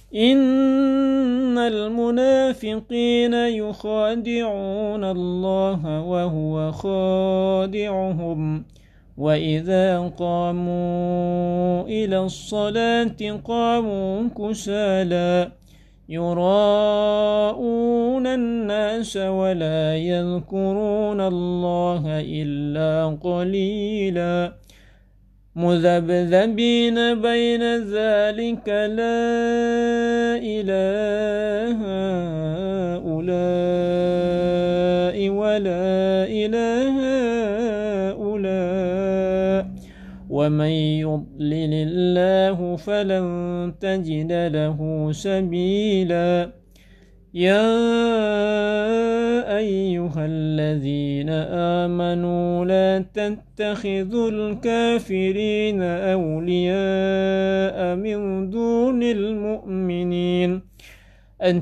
إن المنافقين يخادعون الله وهو خادعهم وإذا قاموا إلى الصلاة قاموا كسالى يراءون الناس ولا يذكرون الله إلا قليلا مذبذبين بين ذلك لا إله هؤلاء ولا إله هؤلاء ومن يضلل الله فلن تجد له سبيلا يا أيها الذين آمنوا لا تتخذوا الكافرين أولياء من دون المؤمنين أن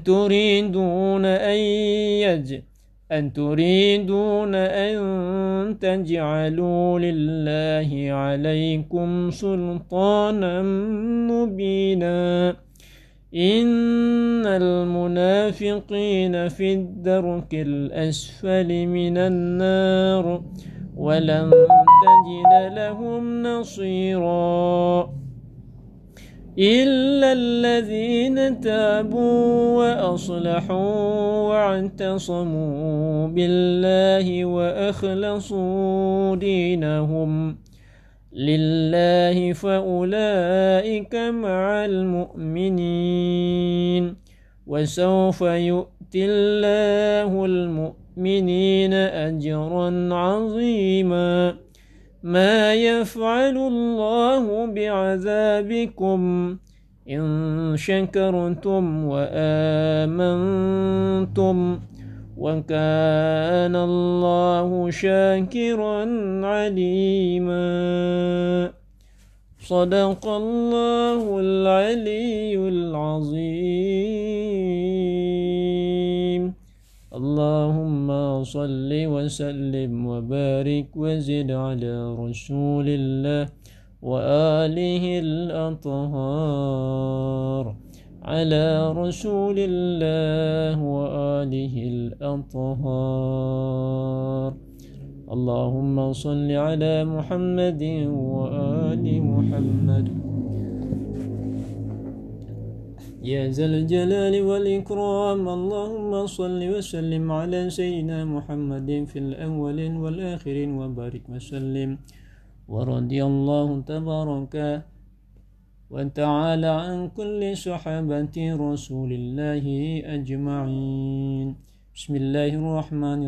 تريدون أن تجعلوا لله عليكم سلطانا مبينا إن المنافقين في الدرك الأسفل من النار ولن تجد لهم نصيرا إلا الذين تابوا وأصلحوا واعتصموا بالله وأخلصوا دينهم لله فأولئك مع المؤمنين وسوف يؤتي الله المؤمنين أجرا عظيما ما يفعل الله بعذابكم إن شكرتم وآمنتم وكان الله شاكرا عليما صدق الله العلي العظيم اللهم صل وسلم وبارك وزد على رسول الله وآله الأطهار على رسول الله وآله الأطهار اللهم صل على محمد وآل محمد يا ذا الجلال والإكرام اللهم صل وسلم على سيدنا محمد في الأولين والآخرين وبارك وسلم ورضي الله تبارك وتعالى عن كل صحابة رسول الله أجمعين بسم الله الرحمن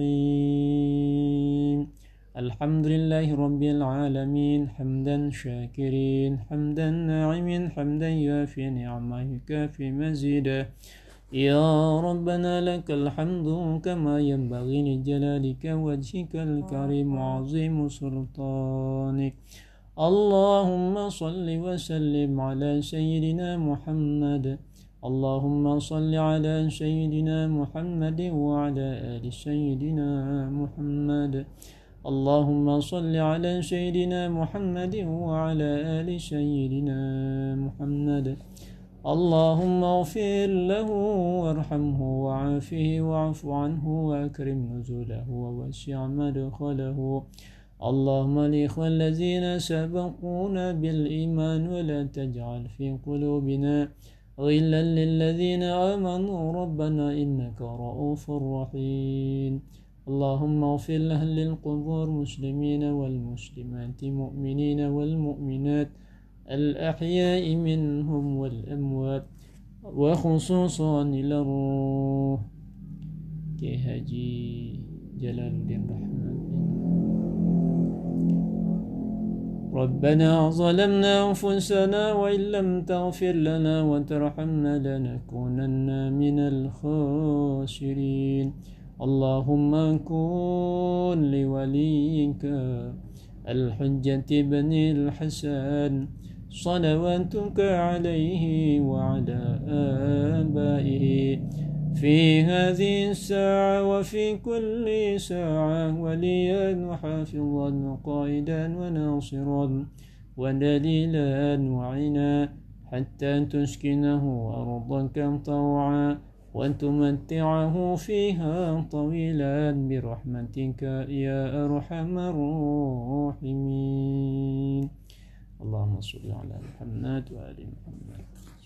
الرحيم الحمد لله رب العالمين حمدا شاكرين حمدا ناعمين حمدا يوافي نعمه يكافي مزيدا يا ربنا لك الحمد كما ينبغي لجلالك وجهك الكريم وعظيم سلطانك اللهم صل وسلم على سيدنا محمد اللهم صل على سيدنا محمد وعلى آل سيدنا محمد اللهم صل على سيدنا محمد وعلى آل سيدنا محمد اللهم اغفر له وارحمه وعافه واعف عنه وأكرم نزوله ووسع مدخله اللهم الإخوة الذين سبقونا بالإيمان ولا تجعل في قلوبنا غلا للذين آمنوا ربنا إنك رؤوف رحيم اللهم اغفر لأهل القبور مسلمين والمسلمات مؤمنين والمؤمنات الأحياء منهم والأموات وخصوصا إلى الروح كهجي جلال الدين رحمن ربنا ظلمنا أنفسنا وإن لم تغفر لنا وترحمنا لنكونن من الخاسرين اللهم كن لوليك الحجة بن الحسن صلواتك عليه وعلى آبائه في هذه الساعة وفي كل ساعة وليا وحافظا وقائدا وناصرا ودليلا وعنا حتى تسكنه أرضك طوعا وتمتعه فيها طويلا برحمتك يا أرحم الراحمين. اللهم صل على محمد وآل محمد.